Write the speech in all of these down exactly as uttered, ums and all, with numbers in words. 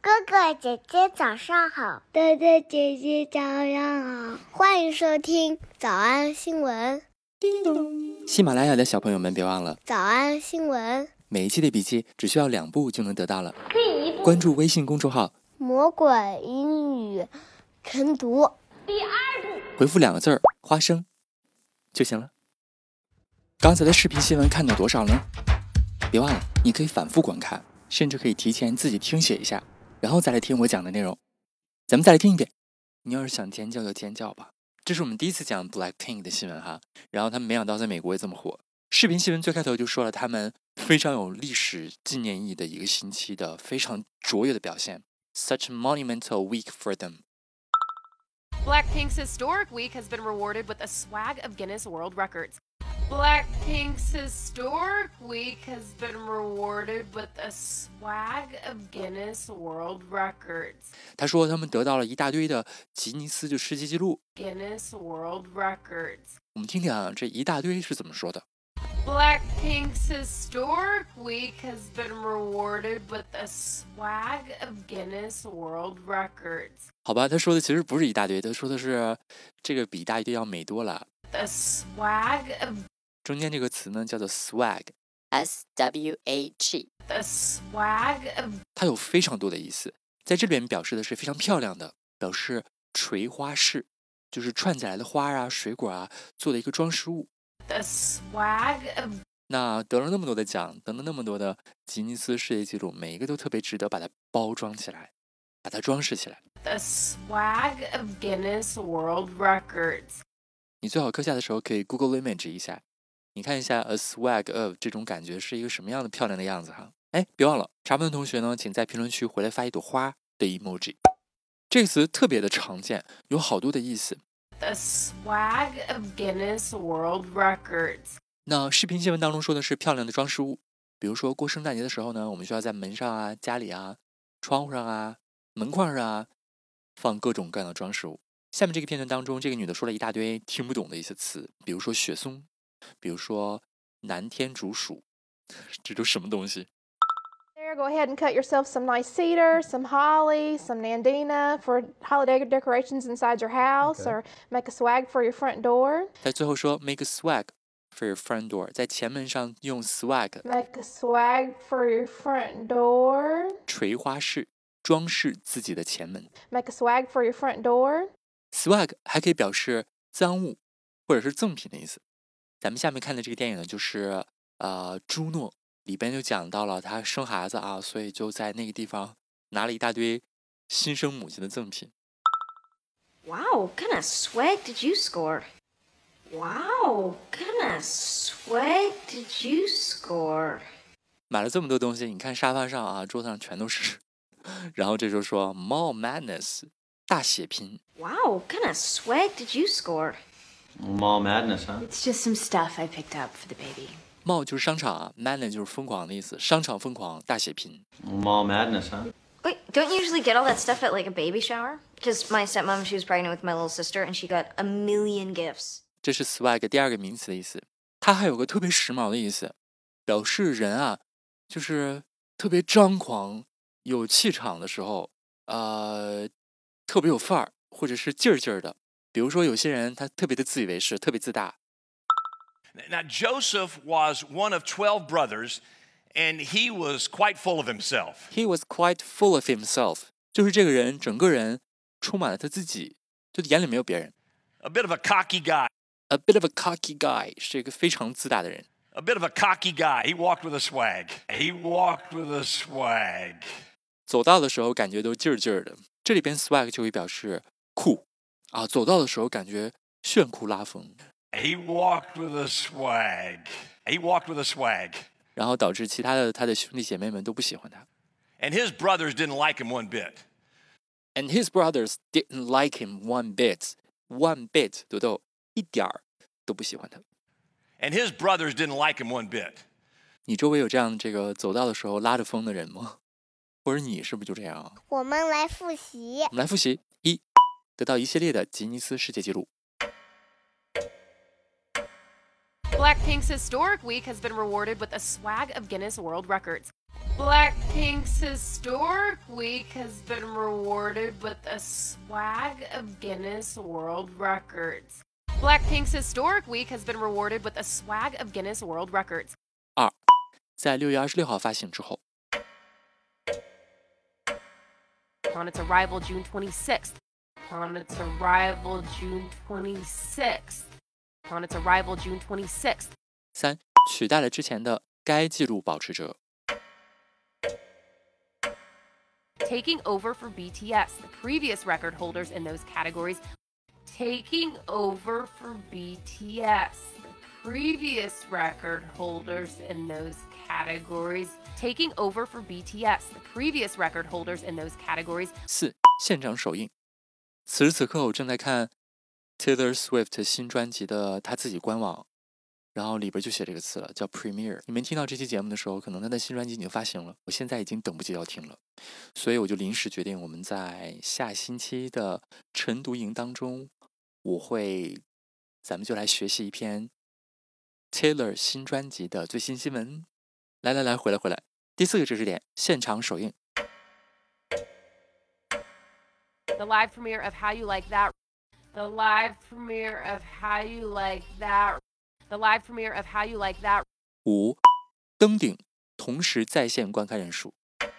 哥哥姐姐早上好， 哥哥姐姐早上好， 欢迎收听早安新闻。 叮咚！喜马拉雅的小朋友们别忘了早安新闻， 每一期的笔记只需要两步就能得到了。第一步，关注微信公众号魔鬼英语晨读。 第二步， 回复两个字儿花生就行了。刚才的视频新闻看到多少呢？别忘了你可以反复观看，甚至可以提前自己听写一下，然后再来听我讲的内容。咱们再来听一遍。你要是想尖叫就尖叫吧。这是我们第一次讲 Blackpink 的新闻哈，然后他们没想到在美国也这么火。视频新闻最开头就说了他们非常有历史纪念意义的一个星期的非常卓越的表现 ，such a monumental week for them. Blackpink's historic week has been rewarded with a swag of Guinness World Records. Blackpink's historic week has been rewarded with a swag of Guinness World Records. 他说他们得到了一大堆的吉尼斯就世界纪录。 Guinness World Records. 我们听听啊，这一大堆是怎么说的 Blackpink's historic week has been rewarded with a swag of Guinness World Records. 好吧，他说的其实不是一大堆，他说的是这个比一大堆要美多了。 The swag of 中间这个词呢叫做 swag S W A G. the swag of 它有非常多的意思，在这边表示的是非常漂亮的，表示垂花式，就是串起来的花啊水果啊做的一个装饰物。 the swag of 那得了那么多的奖，得了那么多的吉尼斯世界纪录，每一个都特别值得把它包装起来，把它装饰起来。 the swag of Guinness World Records. 你最好课下的时候可以 Google Image 一下，你看一下 a swag of 这种感觉是一个什么样的漂亮的样子哈。哎，别忘了查问同学呢，请在评论区回来发一朵花的 emoji。 这个词特别的常见，有好多的意思。 The swag of Guinness World Records. 那视频新闻当中说的是漂亮的装饰物，比如说过圣诞节的时候呢，我们需要在门上啊、家里啊、窗户上啊、门框上啊放各种各样的装饰物。下面这个片段当中，这个女的说了一大堆听不懂的一些词，比如说雪松，比如说南天竺鼠，这都什么东西？ There, go ahead and cut yourself some nice cedar, some holly, some nandina for holiday decorations inside your house, Okay. or make a swag for your front door. 在最后说 make a swag for your front door， 在前门上用 swag Make a swag for your front door. 垂花式装饰自己的前门。 Make a swag for your front door. swag 还可以表示赃物或者是赠品的意思。咱们下面看的这个电影呢，就是呃朱诺，里边就讲到了他生孩子啊，所以就在那个地方拿了一大堆新生母亲的赠品。 Wow, what kind of swag did you score? Wow, what kind of swag did you score? 买了这么多东西，你看沙发上啊，桌子上全都是。然后这就说 Mall Madness 大血拼。 Wow, what kind of swag did you score? Mall madness, huh? It's just some stuff I picked up for the baby. Mall 就是商场啊 ，Madness 就是疯狂的意思，商场疯狂大血拼。 Mall madness, huh? Wait, don't you usually get all that stuff at like a baby shower? Because my stepmom, she was pregnant with my little sister, and she got a million gifts. 这是 swag 第二个名词的意思，它还有个特别时髦的意思，表示人啊，就是特别张狂、有气场的时候，呃，特别有范儿，或者是劲儿劲儿的。比如说有些人他特别的自以为是，特别自大。 Now, Joseph was one of twelve brothers, and he was quite full of himself. He was quite full of himself， 就是这个人整个人充满了他自己，就眼里没有别人。 A bit of a cocky guy. A bit of a cocky guy 是一个非常自大的人。 A bit of a cocky guy. He walked with a swag. He walked with a swag. 走道的时候感觉都劲儿劲儿的，这里边 swag 就会表示酷啊，走道的时候感觉炫酷拉风。 He walked with a swag. He walked with a swag. 然后导致其他的他的兄弟姐妹们都不喜欢他。 And his brothers didn't like him one bit. And his brothers didn't like him one bit. One bit， 豆豆一点儿都不喜欢他。 And his brothers didn't like him one bit. 你周围有这样这个走道的时候拉着风的人吗？或者你是不是就这样啊？ 我们来复习。 我们来复习：一，得到一系列的吉尼斯世界纪录。 Blackpink's historic week has been rewarded with a swag of Guinness World Records. Blackpink's Historic Week has been rewarded with a swag of Guinness World Records. Blackpink's Historic Week has been rewarded with a swag of Guinness World Records. 二，在六月二十六号发行之后。 On its arrival June twenty-sixth. On its arrival June twenty-sixth. On its arrival June twenty-sixth. 三，取代了之前的该纪录保持者。 Taking over for B T S, the previous record holders in those categories. Taking over for B T S, the previous record holders in those categories. Taking over for B T S, the previous record holders in those categories. 四，现场首映。此时此刻，我正在看 Taylor Swift 新专辑的他自己官网，然后里边就写这个词了，叫 Premiere。你们听到这期节目的时候，可能他的新专辑已经发行了，我现在已经等不及要听了，所以我就临时决定，我们在下星期的晨读营当中，我会，咱们就来学习一篇 Taylor 新专辑的最新新闻。来来来，回来回来。第四个知识点，现场首映。 The live premiere of How You Like That. The live premiere of How You Like That. The live premiere of How You Like That. 五，登顶，同时在线观看人数。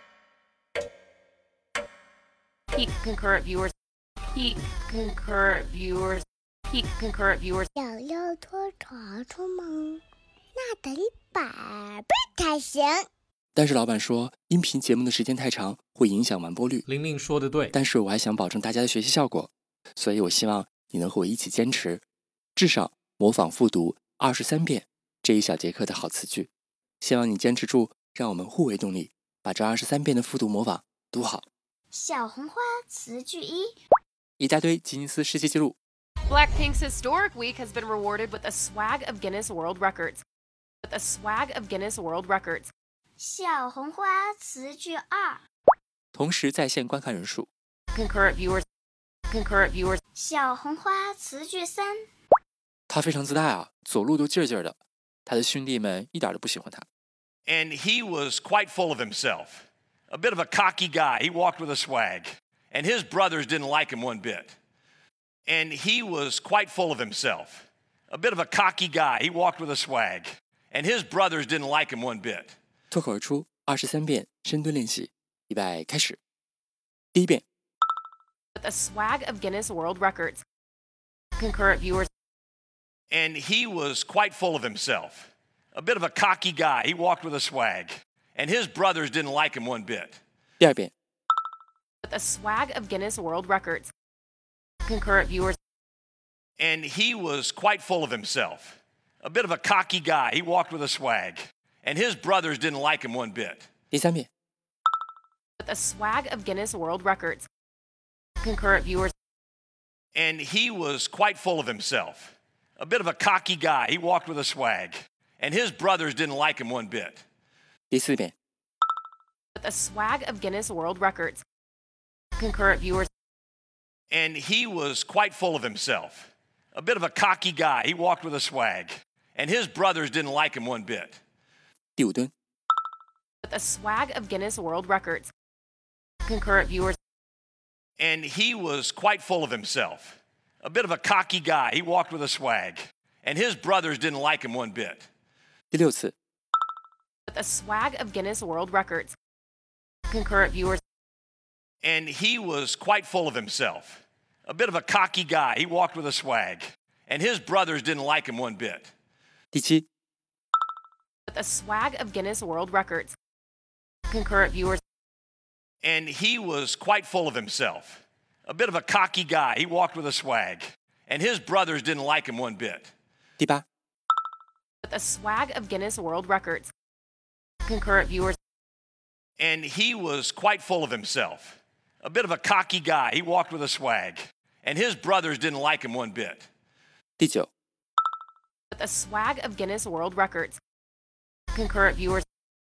Peak concurrent viewers. Peak concurrent viewers. Peak concurrent viewers. 想要拖长出吗？那得一百倍才行。 但是老板说，音频节目的时间太长，会影响完播率。 玲玲说的对， 但是我还想保证大家的学习效果，所以我希望你能和我一起坚持，至少模仿复读二十三遍这一小节课的好词句。希望你坚持住，让我们互为动力，把这二十三遍的复读模仿读好。 小红花词句一， 一大堆吉尼斯世界纪录。 Blackpink's Historic Week has been rewarded with a swag of Guinness World Records. With a swag of Guinness World Records. 小红花词句二， 同时在线观看人数。 Concurrent viewers. Concurrent viewers. 小红花词句三， 他非常自大啊，走路都劲儿劲儿的，他的兄弟们一点都不喜欢他。 And he was quite full of himself. A bit of a cocky guy. He walked with a swag. And his brothers didn't like him one bit. And he was quite full of himself. A bit of a cocky guy. He walked with a swag. And his brothers didn't like him one bit. 脱口而出二十三遍深蹲练习，预备开始。第一遍。 With a swag of Guinness World Records. Concurrent viewers. And he was quite full of himself. A bit of a cocky guy. He walked with a swag. And his brothers didn't like him one bit. 第二遍。 With a swag of Guinness World Records. Concurrent viewers. And he was quite full of himself. A bit of a cocky guy. He walked with a swag. And his brothers didn't like him one bit. 第三遍。 With a swag of Guinness World Records. Concurrent viewers. And he was quite full of himself. A bit of a cocky guy. He walked with a swag. And his brothers didn't like him one bit. 第四遍。 With a swag of Guinness World Records. Concurrent viewers. And he was quite full of himself. A bit of a cocky guy. He walked with a swag. And his brothers didn't like him one bit. 第五蹲。 With a swag of Guinness World Records. Concurrent viewers. And he was quite full of himself. A bit of a cocky guy. He walked with a swag. And his brothers didn't like him one bit. 第六次。 With a swag of Guinness World Records. Concurrent viewers. And he was quite full of himself. A bit of a cocky guy. He walked with a swag. And his brothers didn't like him one bit. 第七。 With a swag of Guinness World Records. Concurrent viewers. And he was quite full of himself. A bit of a cocky guy. He walked with a swag. And his brothers didn't like him one bit. 第八。 With a swag of Guinness World Records. Concurrent viewers. And he was quite full of himself. A bit of a cocky guy. He walked with a swag. And his brothers didn't like him one bit. 第九。 With a swag of Guinness World Records. Concurrent viewers.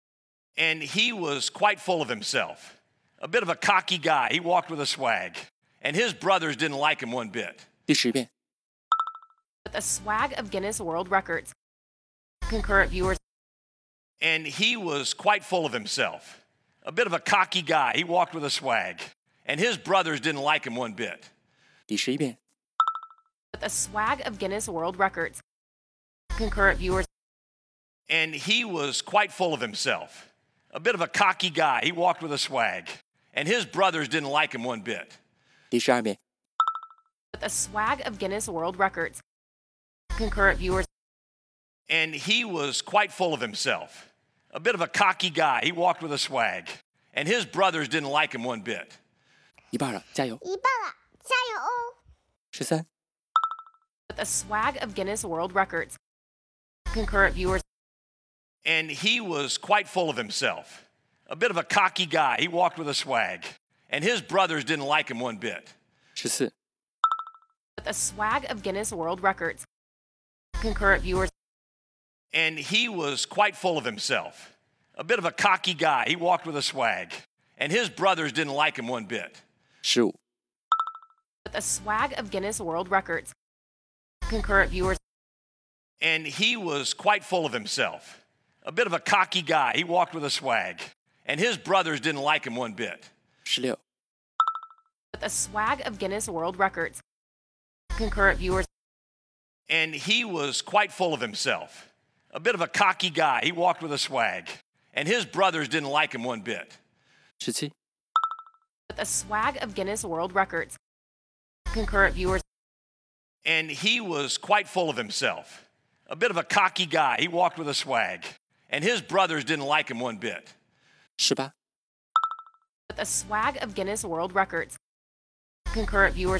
And he was quite full of himself. A bit of a cocky guy. He walked with a swag. And his brothers didn't like him one bit. 第十遍。 With a swag of Guinness World Records. Concurrent viewers. And he was quite full of himself. A bit of a cocky guy. He walked with a swag. And his brothers didn't like him one bit. 第十一遍。 With a swag of Guinness World Records. Concurrent viewers. And he was quite full of himself. A bit of a cocky guy. He walked with a swag. And his brothers didn't like him one bit. 第十二遍。 With a swag of Guinness World Records. Concurrent viewers. And he was quite full of himself. A bit of a cocky guy. He walked with a swag. And his brothers didn't like him one bit. 一半了，加油！ 一半了，加油哦！ 十三。 With a swag of Guinness World Records. Concurrent viewers. And he was quite full of himself. A bit of a cocky guy. He walked with a swag. And his brothers didn't like him one bit. 十四。 With a swag of Guinness World Records. Concurrent viewers. And he was quite full of himself. A bit of a cocky guy. He walked with a swag. And his brothers didn't like him one bit. 十五。 With a swag of Guinness World Records. Concurrent viewers. And he was quite full of himself. A bit of a cocky guy. He walked with a swag. And his brothers didn't like him one bit. 十六。 With a swag of Guinness World Records. Concurrent viewers. And he was quite full of himself. A bit of a cocky guy. He walked with a swag. And his brothers didn't like him one bit. 十七。 With a swag of Guinness World Records. Concurrent viewers. And he was quite full of himself. A bit of a cocky guy. He walked with a swag. And his brothers didn't like him one bit. 十八。 With a swag of Guinness World Records. Concurrent viewers.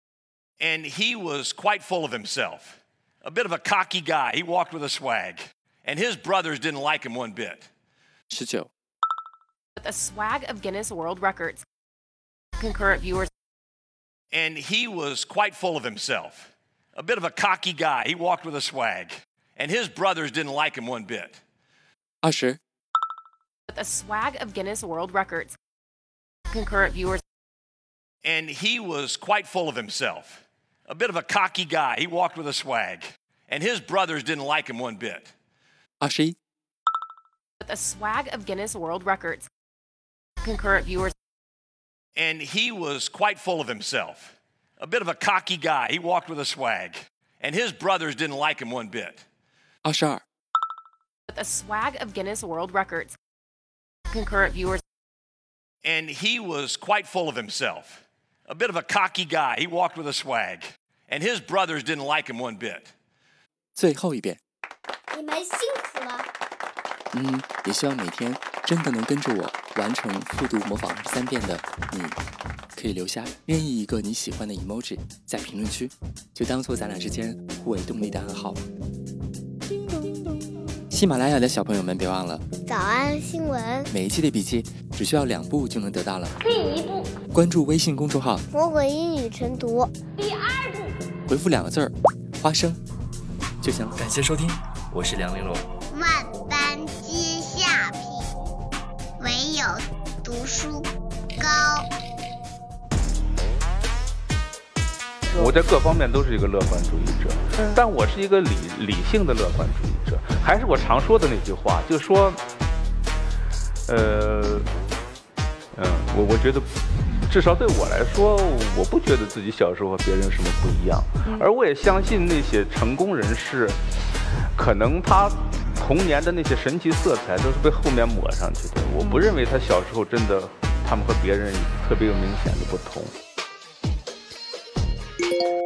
And he was quite full of himself. A bit of a cocky guy. He walked with a swag. And his brothers didn't like him one bit. 十九。 With a swag of Guinness World Records. Concurrent viewers. And he was quite full of himself. A bit of a cocky guy. He walked with a swag. And his brothers didn't like him one bit. 二十。 With a swag of Guinness World Records. Concurrent viewers. And he was quite full of himself. A bit of a cocky guy. He walked with a swag. And his brothers didn't like him one bit. 二十一。 With a swag of Guinness World Records. Concurrent viewers. And he was quite full of himself. A bit of a cocky guy. He walked with a swag. And his brothers didn't like him one bit. 二十二。 With a swag of Guinness World Records. Concurrent viewers. And he was quite full of himself. A bit of a cocky guy. He walked with a swag. And his brothers didn't like him one bit. 最后一遍。 你们辛苦了。 嗯，也希望每天真的能跟着我完成复读模仿二十三遍的你，可以留下任意一个你喜欢的 emoji 在评论区，就当做咱俩之间互为动力的暗号。喜马拉雅的小朋友们别忘了， 早安新闻， 每一期的笔记只需要两步就能得到了。 第一步， 关注微信公众号魔鬼英语晨读；第二步， 回复两个字儿“花生”就行了。感谢收听，我是梁玲珑。 万般皆下品，唯有读书高。 我在各方面都是一个乐观主义者，但我是一个理理性的乐观主义者。还是我常说的那句话，就是说，呃，嗯，我我觉得，至少对我来说，我不觉得自己小时候和别人有什么不一样，而我也相信那些成功人士，可能他童年的那些神奇色彩都是被后面抹上去的。我不认为他小时候真的，他们和别人特别有明显的不同。